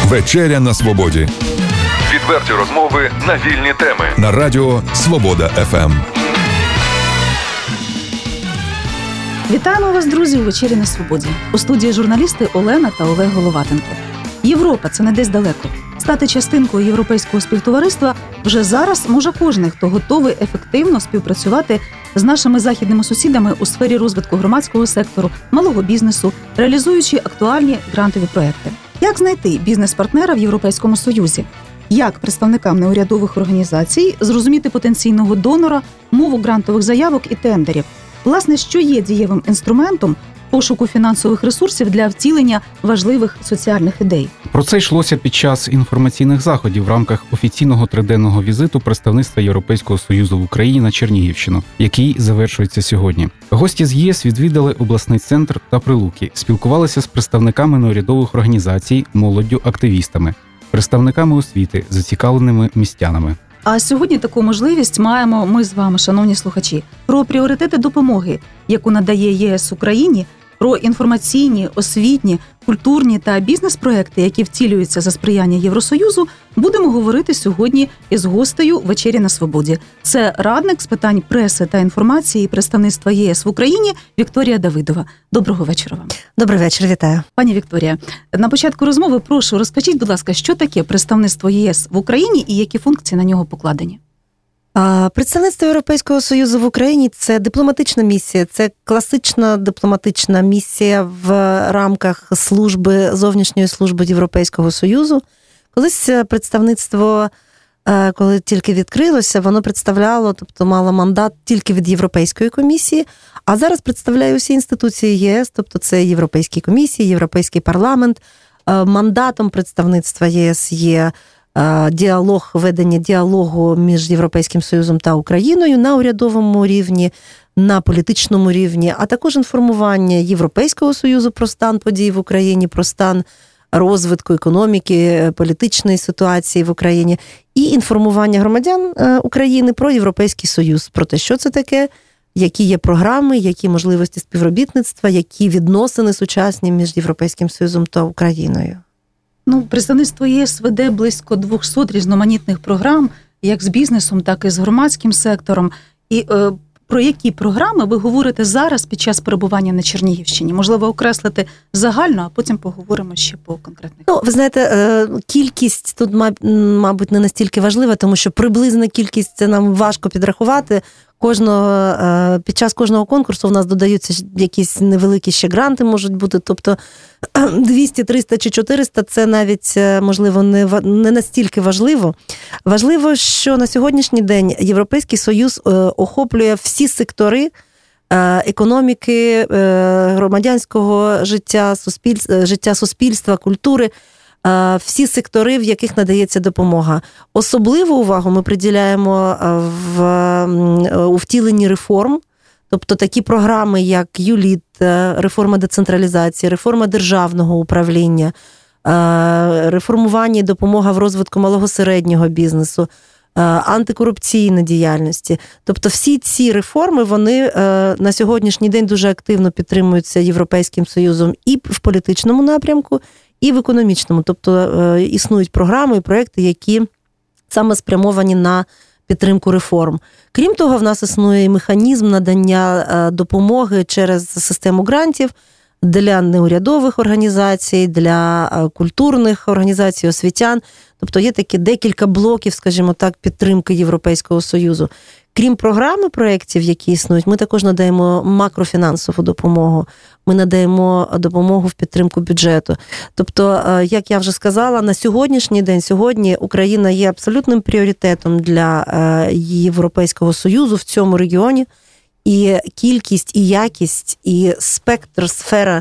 Вечеря на свободі. Відверті розмови на вільні теми. На радіо Свобода ФМ. Вітаємо вас, друзі, у «Вечері на свободі». У студії журналісти Олена та Олег Головатенко. Європа – це не десь далеко. Стати частинкою європейського співтовариства вже зараз може кожен, хто готовий ефективно співпрацювати з нашими західними сусідами у сфері розвитку громадського сектору, малого бізнесу, реалізуючи актуальні грантові проекти. Як знайти бізнес-партнера в Європейському Союзі? Як представникам неурядових організацій зрозуміти потенційного донора, мову грантових заявок і тендерів? Власне, що є дієвим інструментом пошуку фінансових ресурсів для втілення важливих соціальних ідей? Про це йшлося під час інформаційних заходів в рамках офіційного триденного візиту представництва Європейського Союзу в Україні на Чернігівщину, який завершується сьогодні. Гості з ЄС відвідали обласний центр та Прилуки, спілкувалися з представниками неурядових організацій, молоддю, активістами, представниками освіти, зацікавленими містянами. А сьогодні таку можливість маємо ми з вами, шановні слухачі, про пріоритети допомоги, яку надає ЄС Україні, про інформаційні, освітні, культурні та бізнес-проекти, які втілюються за сприяння Євросоюзу, будемо говорити сьогодні із гостею «Вечері на свободі». Це радник з питань преси та інформації представництва ЄС в Україні Вікторія Давидова. Доброго вечора вам. Добрий вечір, вітаю. Пані Вікторія, на початку розмови прошу, розкажіть, будь ласка, що таке представництво ЄС в Україні і які функції на нього покладені? Представництво Європейського Союзу в Україні – це дипломатична місія, це класична дипломатична місія в рамках зовнішньої служби Європейського Союзу. Колись представництво, коли тільки відкрилося, воно представляло, тобто мало мандат тільки від Європейської комісії, а зараз представляє усі інституції єС, тобто це Європейські комісії, Європейський парламент. Мандатом представництва ЄС є ведення діалогу між Європейським Союзом та Україною на урядовому рівні, на політичному рівні, а також інформування Європейського Союзу про стан подій в Україні, про стан розвитку економіки, політичної ситуації в Україні і інформування громадян України про Європейський Союз, про те, що це таке, які є програми, які можливості співробітництва, які відносини сучасні між Європейським Союзом та Україною. Представництво ЄС веде близько 200 різноманітних програм, як з бізнесом, так і з громадським сектором. І про які програми ви говорите зараз під час перебування на Чернігівщині? Можливо, окреслити загально, а потім поговоримо ще по конкретних. Ви знаєте, кількість тут, мабуть, не настільки важлива, тому що приблизна кількість це нам важко підрахувати. Під час кожного конкурсу в нас додаються якісь невеликі ще гранти можуть бути, тобто 200, 300 чи 400 це навіть, можливо, не настільки важливо. Важливо, що на сьогоднішній день Європейський Союз охоплює всі сектори економіки, громадянського життя суспільства, культури, всі сектори, в яких надається допомога. Особливу увагу ми приділяємо у втіленні реформ, тобто такі програми, як ЮЛІТ, реформа децентралізації, реформа державного управління, реформування і допомога в розвитку малого-середнього бізнесу, антикорупційної діяльності. Тобто всі ці реформи, вони на сьогоднішній день дуже активно підтримуються Європейським Союзом і в політичному напрямку, і в економічному. Тобто існують програми і проекти, які саме спрямовані на підтримку реформ. Крім того, в нас існує механізм надання допомоги через систему грантів для неурядових організацій, для культурних організацій, освітян. Тобто є такі декілька блоків, скажімо так, підтримки Європейського Союзу. Крім програми проєктів, які існують, ми також надаємо макрофінансову допомогу. Ми надаємо допомогу в підтримку бюджету. Тобто, як я вже сказала, на сьогоднішній день, сьогодні Україна є абсолютним пріоритетом для Європейського Союзу в цьому регіоні. І кількість, і якість, і спектр, сфера,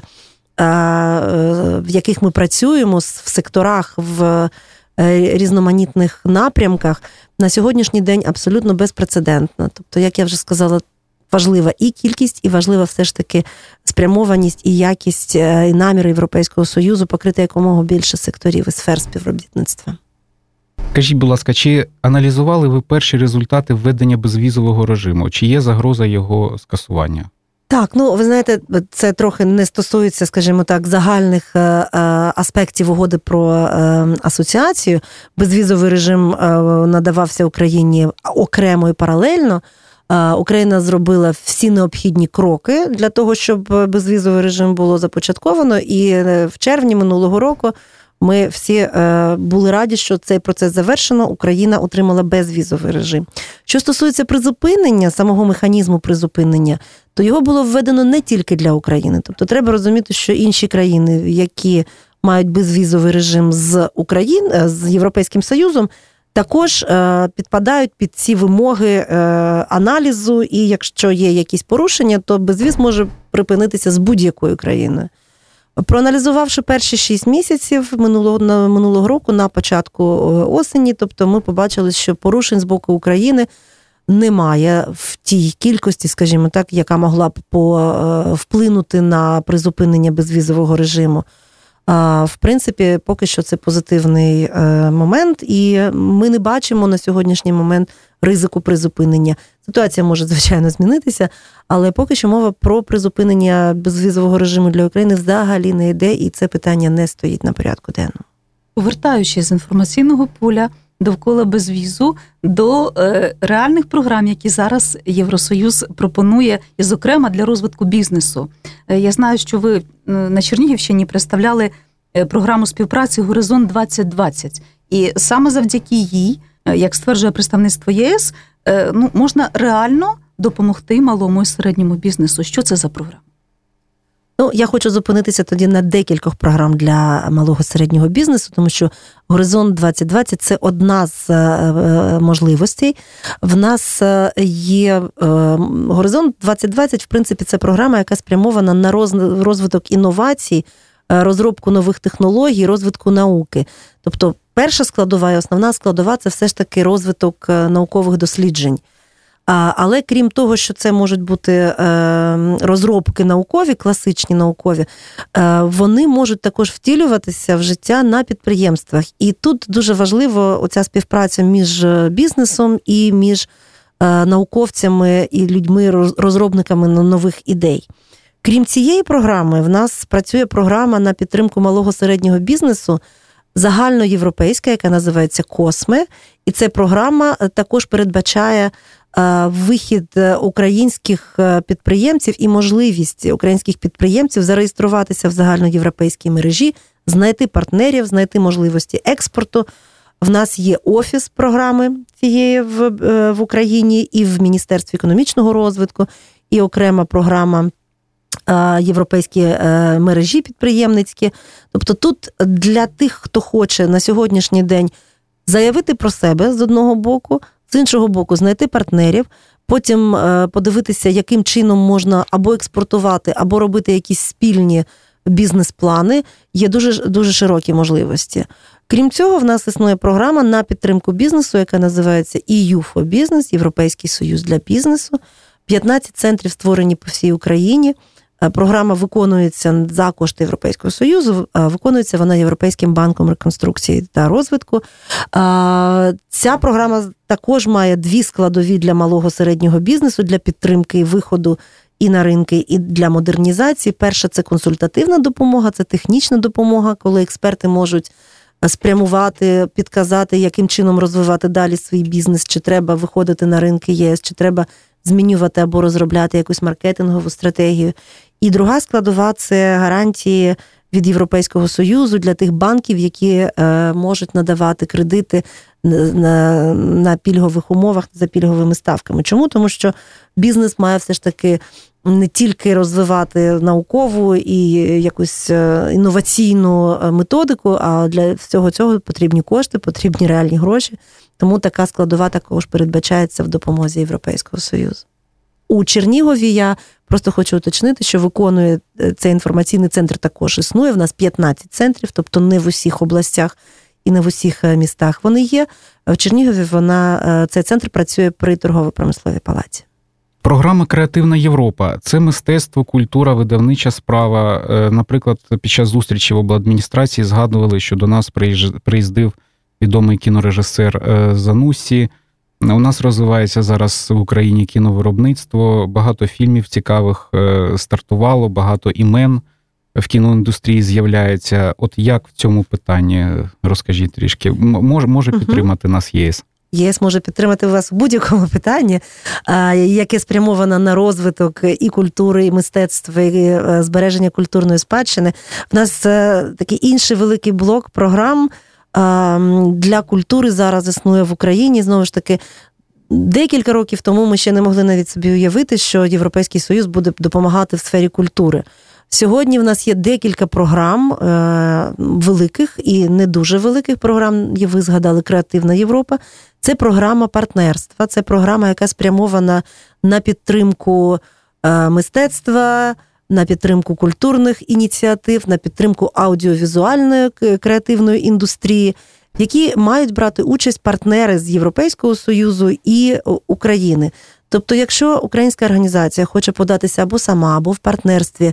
в яких ми працюємо, в секторах, в різноманітних напрямках, на сьогоднішній день абсолютно безпрецедентна. Тобто, як я вже сказала, важлива і кількість, і важлива все ж таки спрямованість, і якість, і наміри Європейського Союзу покрити якомога більше секторів і сфер співробітництва. Скажіть, будь ласка, чи аналізували ви перші результати введення безвізового режиму? Чи є загроза його скасування? Так, ви знаєте, це трохи не стосується, скажімо так, загальних аспектів угоди про асоціацію. Безвізовий режим надавався Україні окремо і паралельно. Україна зробила всі необхідні кроки для того, щоб безвізовий режим було започатковано, і в червні минулого року ми всі були раді, що цей процес завершено, Україна отримала безвізовий режим. Що стосується призупинення, самого механізму призупинення, то його було введено не тільки для України. Тобто треба розуміти, що інші країни, які мають безвізовий режим з Європейським Союзом, також підпадають під ці вимоги аналізу, і якщо є якісь порушення, то безвіз може припинитися з будь-якою країною. Проаналізувавши перші 6 місяців минулого року на початку осені, тобто ми побачили, що порушень з боку України немає в тій кількості, скажімо так, яка могла б вплинути на призупинення безвізового режиму. В принципі, поки що це позитивний момент, і ми не бачимо на сьогоднішній момент ризику призупинення. Ситуація може, звичайно, змінитися, але поки що мова про призупинення безвізового режиму для України взагалі не йде, і це питання не стоїть на порядку денному. Повертаючись з інформаційного поля довкола безвізу до реальних програм, які зараз Євросоюз пропонує, і, зокрема, для розвитку бізнесу. Я знаю, що ви на Чернігівщині представляли програму співпраці «Горизонт 2020». І саме завдяки їй, як стверджує представництво ЄС, можна допомогти малому і середньому бізнесу. Що це за програма? Я хочу зупинитися тоді на декількох програм для малого середнього бізнесу, тому що «Горизонт 2020» – це одна з можливостей. В нас є «Горизонт 2020», в принципі, це програма, яка спрямована на розвиток інновацій, розробку нових технологій, розвитку науки. Тобто перша складова і основна складова – це все ж таки розвиток наукових досліджень. Але крім того, що це можуть бути розробки наукові, класичні наукові, вони можуть також втілюватися в життя на підприємствах. І тут дуже важливо оця співпраця між бізнесом і між науковцями і людьми-розробниками нових ідей. Крім цієї програми, в нас працює програма на підтримку малого середнього бізнесу, загальноєвропейська, яка називається «Косме». І ця програма також передбачає вихід українських підприємців і можливість українських підприємців зареєструватися в загальноєвропейській мережі, знайти партнерів, знайти можливості експорту. В нас є офіс програми цієї в Україні і в Міністерстві економічного розвитку, і окрема програма європейські мережі підприємницькі. Тобто тут для тих, хто хоче на сьогоднішній день заявити про себе з одного боку, з іншого боку знайти партнерів, потім подивитися, яким чином можна або експортувати, або робити якісь спільні бізнес-плани, є дуже широкі можливості. Крім цього, в нас існує програма на підтримку бізнесу, яка називається EU for Business, Європейський Союз для бізнесу. 15 центрів створені по всій Україні. Програма виконується за кошти Європейського Союзу, виконується вона Європейським банком реконструкції та розвитку. Ця програма також має 2 складові для малого середнього бізнесу, для підтримки і виходу і на ринки, і для модернізації. Перша – це консультативна допомога, це технічна допомога, коли експерти можуть спрямувати, підказати, яким чином розвивати далі свій бізнес, чи треба виходити на ринки ЄС, чи треба змінювати або розробляти якусь маркетингову стратегію. І друга складова – це гарантії від Європейського Союзу для тих банків, які можуть надавати кредити на пільгових умовах, за пільговими ставками. Чому? Тому що бізнес має все ж таки не тільки розвивати наукову і якусь інноваційну методику, а для всього цього потрібні кошти, потрібні реальні гроші. Тому така складова також передбачається в допомозі Європейського Союзу. У Чернігові я просто хочу уточнити, що виконує цей інформаційний центр, також існує. В нас 15 центрів, тобто не в усіх областях і не в усіх містах вони є. В Чернігові цей центр працює при торгово-промисловій палаті. Програма «Креативна Європа» – це мистецтво, культура, видавнича справа. Наприклад, під час зустрічі в обладміністрації згадували, що до нас приїздив відомий кінорежисер Зануссі, У нас розвивається зараз в Україні кіновиробництво, багато фільмів цікавих стартувало, багато імен в кіноіндустрії з'являється. От як в цьому питанні, розкажіть трішки, може підтримати нас ЄС? ЄС може підтримати вас у будь-якому питанні, яке спрямовано на розвиток і культури, і мистецтва, і збереження культурної спадщини. В нас такий інший великий блок програм для культури зараз існує в Україні. Знову ж таки, декілька років тому ми ще не могли навіть собі уявити, що Європейський Союз буде допомагати в сфері культури. Сьогодні в нас є декілька програм великих і не дуже великих програм. Ви згадали «Креативна Європа». Це програма партнерства, це програма, яка спрямована на підтримку мистецтва, на підтримку культурних ініціатив, на підтримку аудіовізуальної креативної індустрії, які мають брати участь партнери з Європейського Союзу і України. Тобто, якщо українська організація хоче податися або сама, або в партнерстві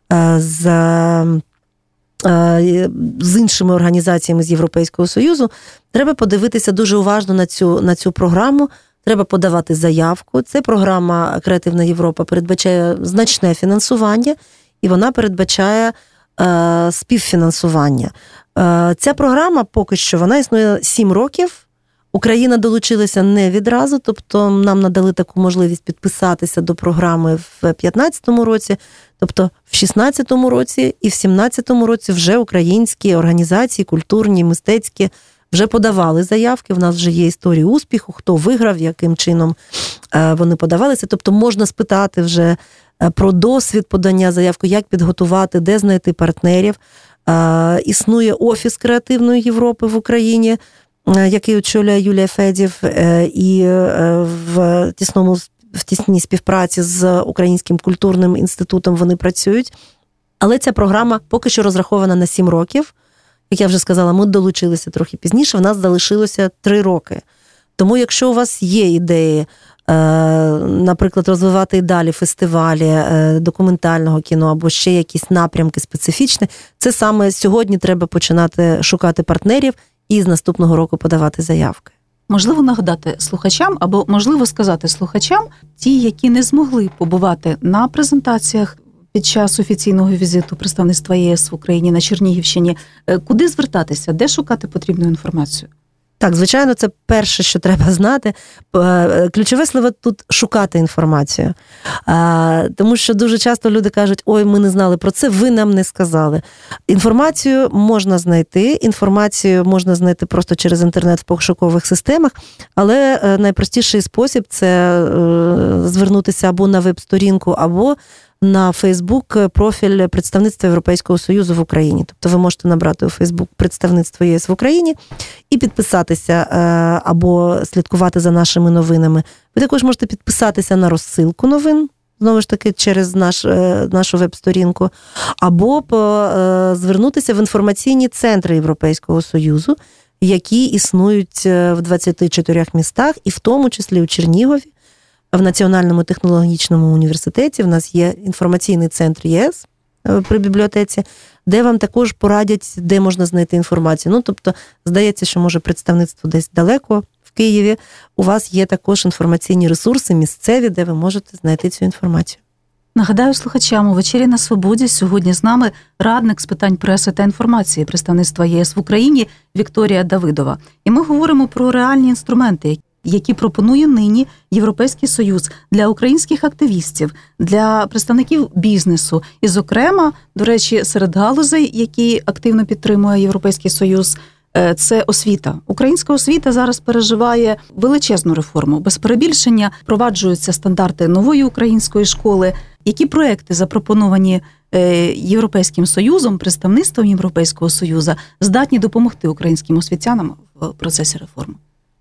з іншими організаціями з Європейського Союзу, треба подивитися дуже уважно на цю програму, треба подавати заявку. Це програма «Креативна Європа» передбачає значне фінансування, і вона передбачає співфінансування. Ця програма поки що, вона існує 7 років. Україна долучилася не відразу, тобто нам надали таку можливість підписатися до програми в 2015 році, тобто в 2016 році і в 2017 році вже українські організації, культурні, мистецькі, вже подавали заявки, в нас вже є історії успіху, хто виграв, яким чином вони подавалися, тобто можна спитати вже про досвід подання заявки, як підготувати, де знайти партнерів. Існує Офіс Креативної Європи в Україні, який очолює Юлія Федів, і в тісній співпраці з Українським культурним інститутом вони працюють. Але ця програма поки що розрахована на 7 років. Як я вже сказала, ми долучилися трохи пізніше, в нас залишилося 3 роки. Тому якщо у вас є ідеї, наприклад, розвивати і далі фестивалі документального кіно або ще якісь напрямки специфічні, це саме сьогодні треба починати шукати партнерів і з наступного року подавати заявки. Можливо нагадати слухачам, або можливо сказати слухачам, ті, які не змогли побувати на презентаціях під час офіційного візиту представництва ЄС в Україні на Чернігівщині, куди звертатися, де шукати потрібну інформацію? Так, звичайно, це перше, що треба знати. Ключове слово тут – шукати інформацію. Тому що дуже часто люди кажуть, ой, ми не знали про це, ви нам не сказали. Інформацію можна знайти просто через інтернет в пошукових системах, але найпростіший спосіб – це звернутися або на веб-сторінку, або на Фейсбук профіль представництва Європейського Союзу в Україні. Тобто ви можете набрати у Фейсбук представництво ЄС в Україні і підписатися або слідкувати за нашими новинами. Ви також можете підписатися на розсилку новин, знову ж таки, через нашу веб-сторінку, або звернутися в інформаційні центри Європейського Союзу, які існують в 24 містах, і в тому числі у Чернігові. В Національному технологічному університеті в нас є інформаційний центр ЄС при бібліотеці, де вам також порадять, де можна знайти інформацію. Тобто, здається, що, може, представництво десь далеко в Києві. У вас є також інформаційні ресурси місцеві, де ви можете знайти цю інформацію. Нагадаю слухачам, у «Вечері на Свободі» сьогодні з нами радник з питань преси та інформації представництва ЄС в Україні Вікторія Давидова. І ми говоримо про реальні інструменти, які пропонує нині Європейський Союз для українських активістів, для представників бізнесу. І, зокрема, до речі, серед галузей, які активно підтримує Європейський Союз, це освіта. Українська освіта зараз переживає величезну реформу. Без перебільшення впроваджуються стандарти нової української школи. Які проекти, запропоновані Європейським Союзом, представництвом Європейського Союзу, здатні допомогти українським освітянам в процесі реформи?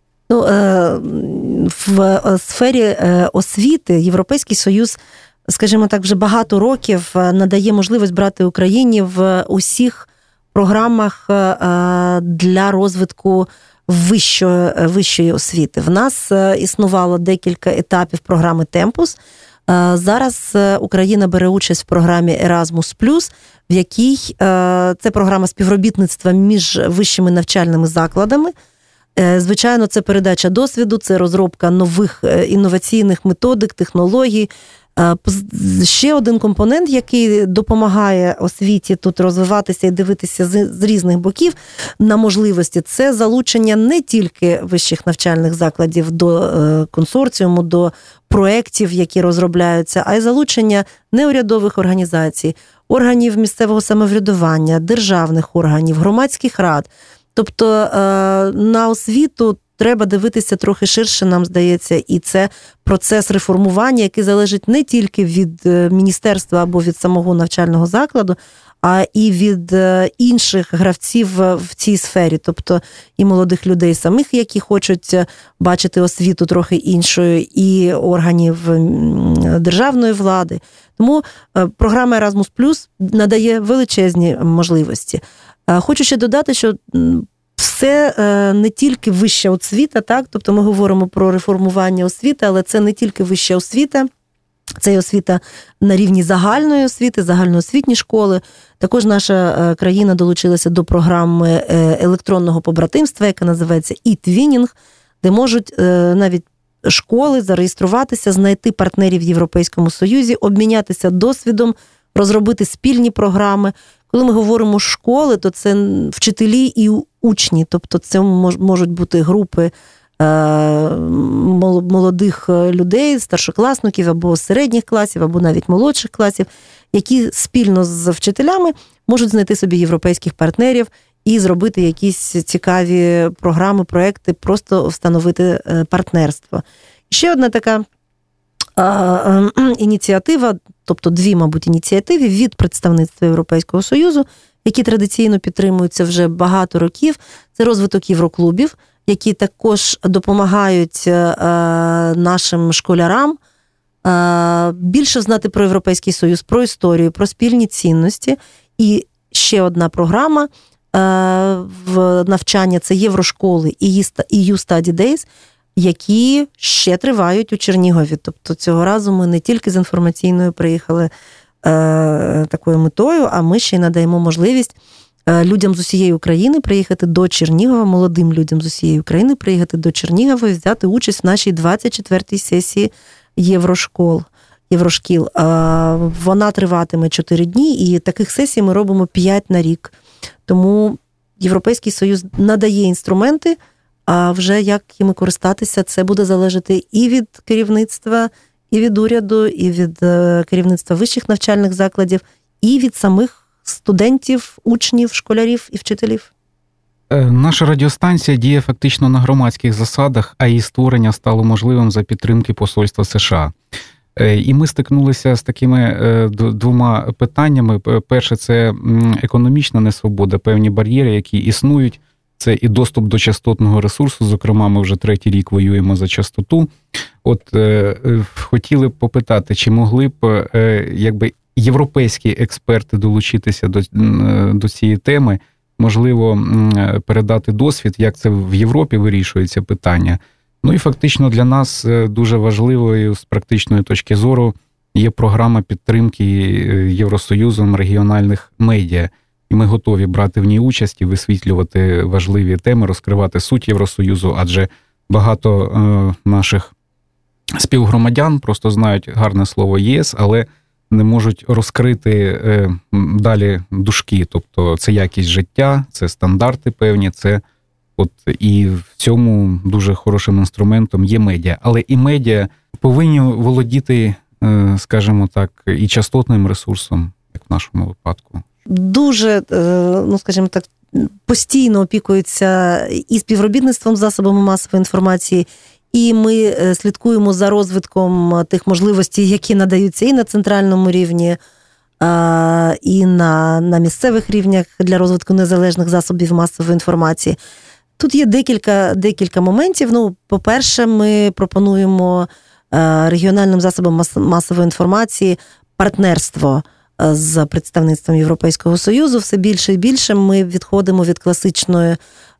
В сфері освіти Європейський Союз, скажімо так, вже багато років надає можливість брати Україні в усіх програмах для розвитку вищої освіти. В нас існувало декілька етапів програми «Темпус». Зараз Україна бере участь в програмі Erasmus+, в якій це програма співробітництва між вищими навчальними закладами, Звичайно, це передача досвіду, це розробка нових інноваційних методик, технологій. Ще один компонент, який допомагає освіті тут розвиватися і дивитися з різних боків на можливості, це залучення не тільки вищих навчальних закладів до консорціуму, до проєктів, які розробляються, а й залучення неурядових організацій, органів місцевого самоврядування, державних органів, громадських рад. Тобто на освіту треба дивитися трохи ширше, нам здається, і це процес реформування, який залежить не тільки від міністерства або від самого навчального закладу, а і від інших гравців в цій сфері, тобто і молодих людей самих, які хочуть бачити освіту трохи іншою, і органів державної влади. Тому програма Erasmus+ надає величезні можливості. Хочу ще додати, що це не тільки вища освіта, так? Тобто ми говоримо про реформування освіти, але це не тільки вища освіта, це й освіта на рівні загальної освіти, загальноосвітні школи. Також наша країна долучилася до програми електронного побратимства, яка називається e-twinning, де можуть навіть школи зареєструватися, знайти партнерів в Європейському Союзі, обмінятися досвідом, розробити спільні програми. Коли ми говоримо школи, то це вчителі і учні, тобто це можуть бути групи молодих людей, старшокласників або середніх класів, або навіть молодших класів, які спільно з вчителями можуть знайти собі європейських партнерів і зробити якісь цікаві програми, проекти, просто встановити партнерство. Ще одна така ініціатива, тобто дві, мабуть, ініціативи від представництва Європейського Союзу, які традиційно підтримуються вже багато років. Це розвиток євроклубів, які також допомагають нашим школярам більше знати про Європейський Союз, про історію, про спільні цінності. І ще одна програма в навчання – це єврошколи і EU Study Days, які ще тривають у Чернігові. Тобто цього разу ми не тільки з інформаційною приїхали такою метою, а ми ще й надаємо можливість людям з усієї України приїхати до Чернігова, молодим людям з усієї України приїхати до Чернігова і взяти участь в нашій 24-й сесії єврошкіл. Вона триватиме 4 дні, і таких сесій ми робимо 5 на рік. Тому Європейський Союз надає інструменти, а вже як їми користатися, це буде залежати і від керівництва, і від уряду, і від керівництва вищих навчальних закладів, і від самих студентів, учнів, школярів і вчителів. Наша радіостанція діє фактично на громадських засадах, а її створення стало можливим за підтримки Посольства США. І ми стикнулися з такими двома питаннями. Перше – це економічна несвобода, певні бар'єри, які існують. Це і доступ до частотного ресурсу, зокрема, ми вже 3-й рік воюємо за частоту. Хотіли б попитати, чи могли б європейські експерти долучитися до цієї теми, можливо, передати досвід, як це в Європі вирішується питання. Ну і фактично для нас дуже важливою з практичної точки зору є програма підтримки Євросоюзом регіональних медіа. І ми готові брати в ній участь і висвітлювати важливі теми, розкривати суть Євросоюзу, адже багато наших співгромадян просто знають гарне слово ЄС, але не можуть розкрити далі дужки. Тобто це якість життя, це стандарти певні, це і в цьому дуже хорошим інструментом є медіа. Але і медіа повинні володіти, скажімо так, і частотним ресурсом, як в нашому випадку. Дуже, скажімо так, постійно опікуються і співробітництвом з засобами масової інформації, і ми слідкуємо за розвитком тих можливостей, які надаються і на центральному рівні, і на місцевих рівнях для розвитку незалежних засобів масової інформації. Тут є декілька моментів. По-перше, ми пропонуємо регіональним засобам масової інформації партнерство з представництвом Європейського Союзу. Все більше і більше ми відходимо від класичної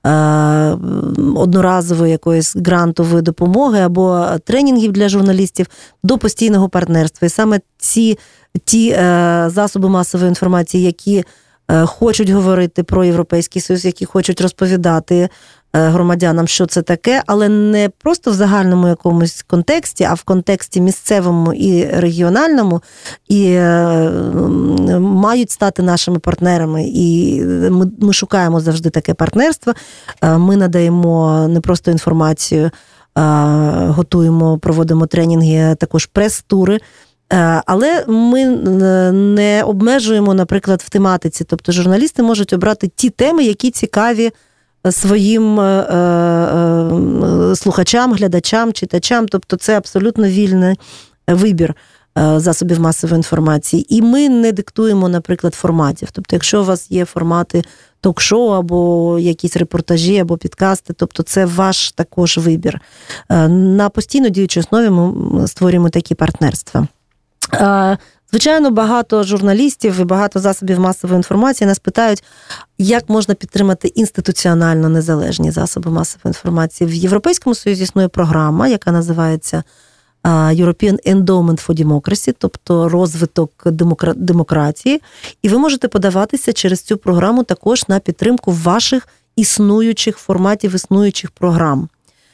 одноразової якоїсь грантової допомоги або тренінгів для журналістів до постійного партнерства. І саме ті засоби масової інформації, які хочуть говорити про Європейський Союз, які хочуть розповідати громадянам, що це таке, але не просто в загальному якомусь контексті, а в контексті місцевому і регіональному, і мають стати нашими партнерами. І ми шукаємо завжди таке партнерство. Ми надаємо не просто інформацію, готуємо, проводимо тренінги, також прес-тури. Але ми не обмежуємо, наприклад, в тематиці. Тобто журналісти можуть обрати ті теми, які цікаві своїм слухачам, глядачам, читачам. Тобто це абсолютно вільний вибір засобів масової інформації. І ми не диктуємо, наприклад, форматів. Тобто якщо у вас є формати ток-шоу або якісь репортажі, або підкасти, тобто це ваш також вибір. На постійно діючій основі ми створюємо такі партнерства. Звичайно, багато журналістів і багато засобів масової інформації нас питають, як можна підтримати інституціонально незалежні засоби масової інформації. В Європейському Союзі існує програма, яка називається European Endowment for Democracy, тобто розвиток демократії, і ви можете подаватися через цю програму також на підтримку ваших існуючих форматів, існуючих програм.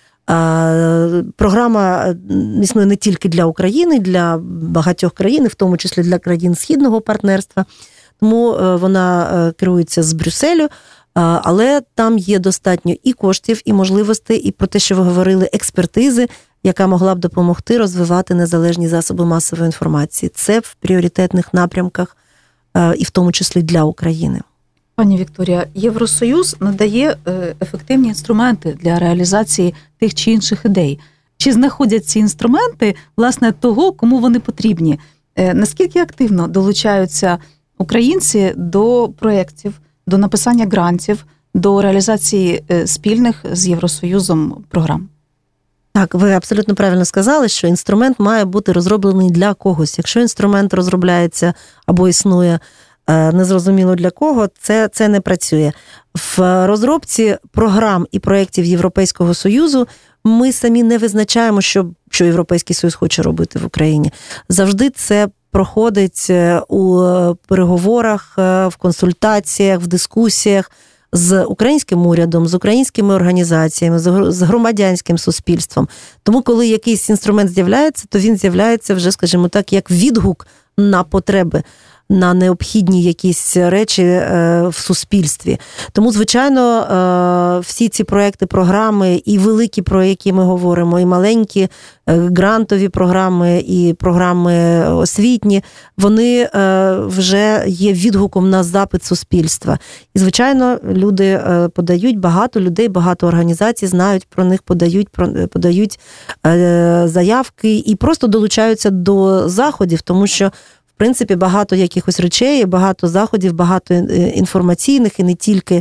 Програма існує не тільки для України, для багатьох країн, в тому числі для країн Східного партнерства, тому вона керується з Брюсселю, але там є достатньо і коштів, і можливостей, і про те, що ви говорили, експертизи, яка могла б допомогти розвивати незалежні засоби масової інформації. Це в пріоритетних напрямках, і в тому числі для України. Пані Вікторія, Євросоюз надає ефективні інструменти для реалізації тих чи інших ідей. Чи знаходять ці інструменти, власне, того, кому вони потрібні? Наскільки активно долучаються українці до проєктів, до написання грантів, до реалізації спільних з Євросоюзом програм? Так, ви абсолютно правильно сказали, що інструмент має бути розроблений для когось. Якщо інструмент розробляється або існує незрозуміло для кого, це не працює. В розробці програм і проєктів Європейського Союзу ми самі не визначаємо, що Європейський Союз хоче робити в Україні. Завжди це проходить у переговорах, в консультаціях, в дискусіях з українським урядом, з українськими організаціями, з громадянським суспільством. Тому, коли якийсь інструмент з'являється, то він з'являється вже, скажімо так, як відгук на потреби, на необхідні якісь речі в суспільстві. Тому, звичайно, всі ці проекти, програми, і великі, про які ми говоримо, і маленькі грантові програми, і програми освітні, вони вже є відгуком на запит суспільства. І, звичайно, люди подають, багато людей, багато організацій знають про них, подають заявки і просто долучаються до заходів, тому що в принципі, багато якихось речей, багато заходів, багато інформаційних і не тільки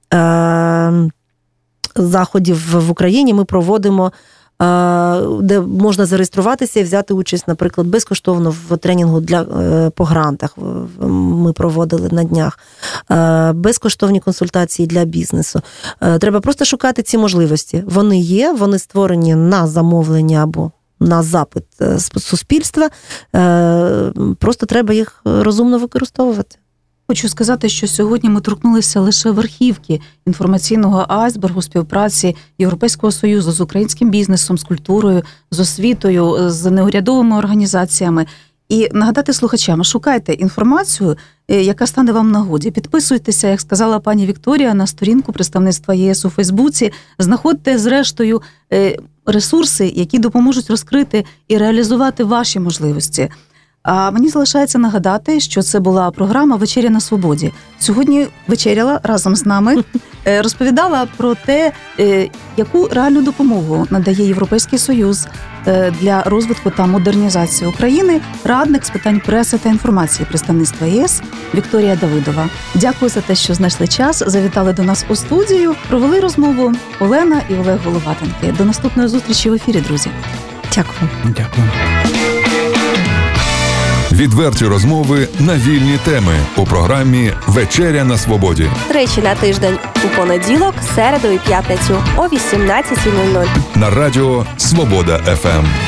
заходів в Україні ми проводимо, де можна зареєструватися і взяти участь, наприклад, безкоштовно в тренінгу по грантах. Ми проводили на днях. Безкоштовні консультації для бізнесу. Треба просто шукати ці можливості. Вони є, вони створені на замовлення або на запит суспільства, просто треба їх розумно використовувати. Хочу сказати, що сьогодні ми торкнулися лише верхівки інформаційного айсбергу співпраці Європейського Союзу з українським бізнесом, з культурою, з освітою, з неурядовими організаціями. І нагадати слухачам, шукайте інформацію, яка стане вам в нагоді. Підписуйтеся, як сказала пані Вікторія, на сторінку представництва ЄС у Фейсбуці. Знаходьте, зрештою, ресурси, які допоможуть розкрити і реалізувати ваші можливості. А мені залишається нагадати, що це була програма «Вечеря на свободі». Сьогодні вечеряла разом з нами, розповідала про те, яку реальну допомогу надає Європейський Союз для розвитку та модернізації України радник з питань преси та інформації представництва ЄС Вікторія Давидова. Дякую за те, що знайшли час, завітали до нас у студію, провели розмову Олена і Олег Головатенки. До наступної зустрічі в ефірі, друзі. Дякую. Дякую. Відверті розмови на вільні теми у програмі «Вечеря на свободі». Тричі на тиждень у понеділок, середу і п'ятницю о 18:00. На радіо «Свобода ФМ».